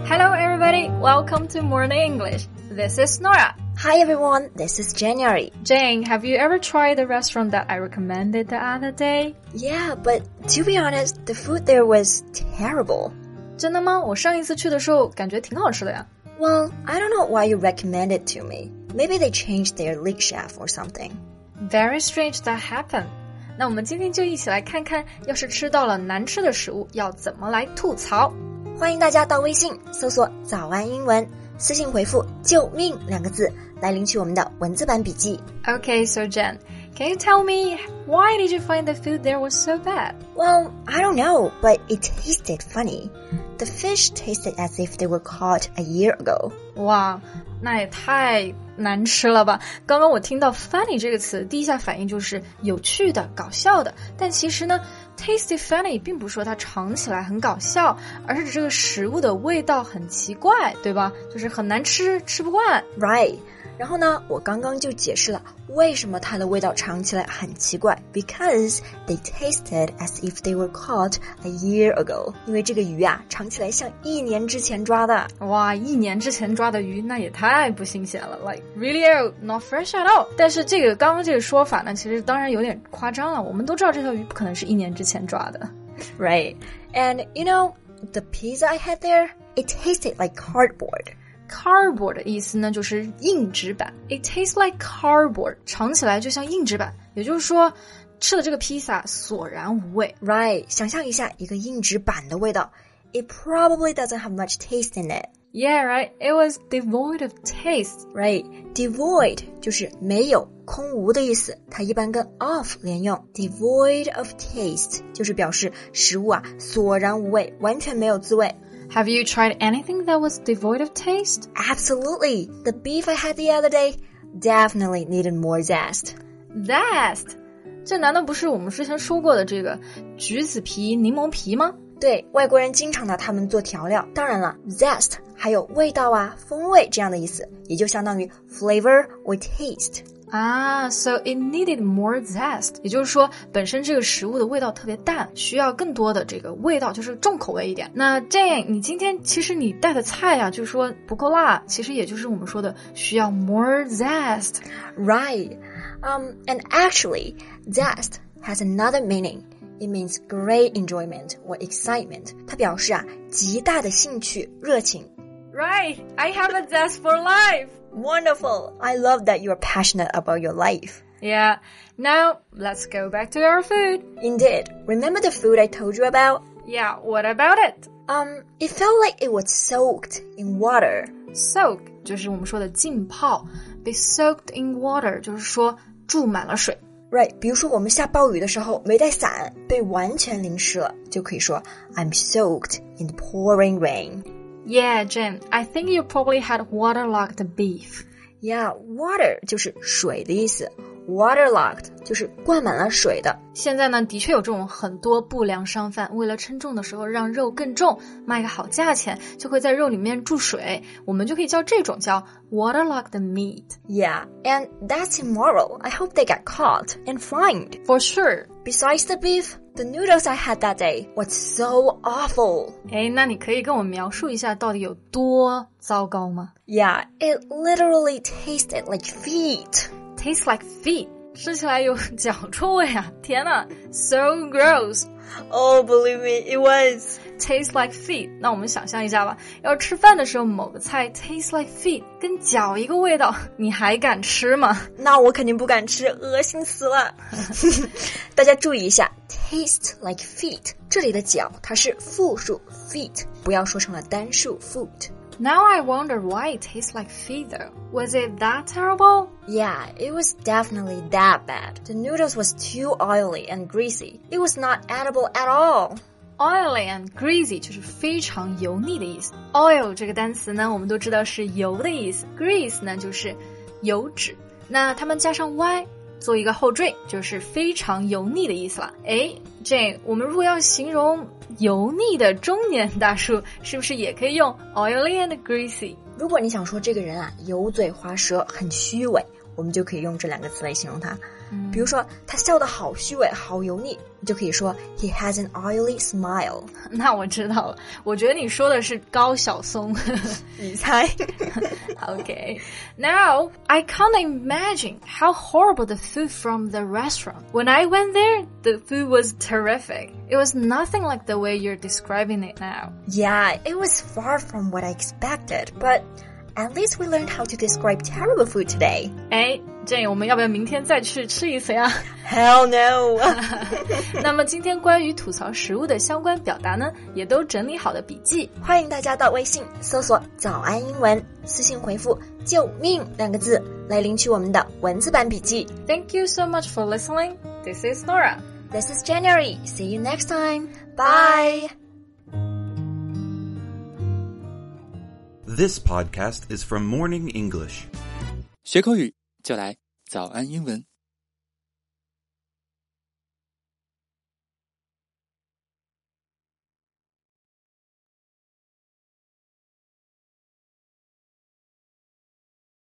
Hello everybody, welcome to Morning English. This is Nora. Hi everyone, this is January. Jane, have you ever tried the restaurant that I recommended the other day? Yeah, but to be honest, the food there was terrible. 真的吗？我上一次去的时候感觉挺好吃的呀。 Well, I don't know why you recommend it to me. Maybe they changed their lead chef or something. Very strange that happened. 那我们今天就一起来看看，要是吃到了难吃的食物，要怎么来吐槽。 欢迎大家到微信搜索早安英文，私信回复救命2个字来领取我们的文字版笔记。 Okay, so Jen, can you tell me why did you find the food there was so bad? Well, I don't know, but it tasted funny. The fish tasted as if they were caught a year ago. 哇，那也太难吃了吧。刚刚我听到 funny 这个词，第一下反应就是有趣的、搞笑的。但其实呢 tasty funny 并不是说它尝起来很搞笑，而是指这个食物的味道很奇怪，对吧？就是很难吃，吃不惯。 Right. 然后呢，我刚刚就解释了为什么它的味道尝起来很奇怪 because they tasted as if they were caught a year ago. 因为这个鱼啊，尝起来像1年之前抓的。 哇，1年之前抓的鱼，那也太不新鲜了 Like really not fresh at all. 但是这个刚刚这个说法呢，其实当然有点夸张了。我们都知道这条鱼不可能是1年之前抓的。 Right. And you know, the pizza I had there, it tasted like cardboard.Cardboard 的意思呢，就是硬纸板。It tastes like cardboard， 尝起来就像硬纸板，也就是说，吃了这个披萨索然无味。 Right， 想象一下一个硬纸板的味道。It probably doesn't have much taste in it. Yeah, right. It was devoid of taste. Right, devoid 就是没有、空无的意思，它一般跟 of 连用。Devoid of taste 就是表示食物啊索然无味，完全没有滋味。 Have you tried anything that was devoid of taste? Absolutely. The beef I had the other day definitely needed more zest. Zest? 这难道不是我们之前说过的这个橘子皮、柠檬皮吗？ 对，外国人经常拿它们做调料。当然了 zest 还有味道啊、风味这样的意思，也就相当于 flavor or taste。 So it needed more zest， 也就是说本身这个食物的味道特别淡，需要更多的这个味道，就是重口味一点。那Jane，你今天其实你带的菜啊，就是说不够辣，其实也就是我们说的需要 more zest。 Right. And actually, zest has another meaning. It means great enjoyment or excitement. 它表示啊极大的兴趣、热情。 Right, I have a zest for life.Wonderful. I love that you are passionate about your life. Yeah. Now, let's go back to our food. Indeed. Remember the food I told you about? Yeah, what about it? It felt like it was soaked in water. Soak 就是我们说的浸泡。Be soaked in water 就是说注满了水。 Right, 比如说我们下暴雨的时候没带伞，被完全淋湿了，就可以说 I'm soaked in the pouring rain.Yeah, Jen, I think you probably had waterlogged beef. Yeah, water 就是水的意思。Waterlogged 就是灌满了水的。 现在呢，的确有这种很多不良商贩，为了称重的时候让肉更重，卖个好价钱，就会在肉里面注水。我们就可以叫这种叫 waterlogged meat. Yeah, and that's immoral. I hope they get caught and fined. For sure. Besides the beef,The noodles I had that day was so awful. 那你可以跟我描述一下到底有多糟糕吗？ Yeah, it literally tasted like feet. Tastes like feet. 吃起来有脚臭味啊！天哪 ，so gross. Oh, believe me, it was. Tastes like feet. 那我们想象一下吧，要吃饭的时候某个菜 tastes like feet， 跟脚一个味道，你还敢吃吗？ 那我肯定不敢吃，恶心死了。大家注意一下 ，taste like feet， 这里的脚它是复数 feet， 不要说成了单数 foot。Now I wonder why it tastes like feet though. Was it that terrible? Yeah, it was definitely that bad. The noodles was too oily and greasy. It was not edible at all.Oily and greasy 就是非常油腻的意思。Oil 这个单词呢，我们都知道是油的意思。Grease 呢就是油脂，那它们加上 y 做一个后缀，就是非常油腻的意思了。Jane， 我们如果要形容油腻的中年大叔，是不是也可以用 oily and greasy？ 如果你想说这个人啊油嘴滑舌，很虚伪，我们就可以用这2个词来形容他。 比如说他笑得好虚伪好油腻，你就可以说 He has an oily smile。 那我知道了，我觉得你说的是高晓松。 你猜。 Okay, now I can't imagine how horrible the food from the restaurant. When I went there, the food was terrific. It was nothing like the way you're describing it now. Yeah, it was far from what I expected, but at least we learned how to describe terrible food today. 哎，这我们要不要明天再去吃一次呀？ Hell no. 那么今天关于吐槽食物的相关表达呢，也都整理好了笔记。 欢迎大家到微信搜索早安英文，私信回复救命2个字来领取我们的文字版笔记。 Thank you so much for listening. This is Nora. This is January. See you next time. Bye. This podcast is from Morning English. 学口语就来早安英文。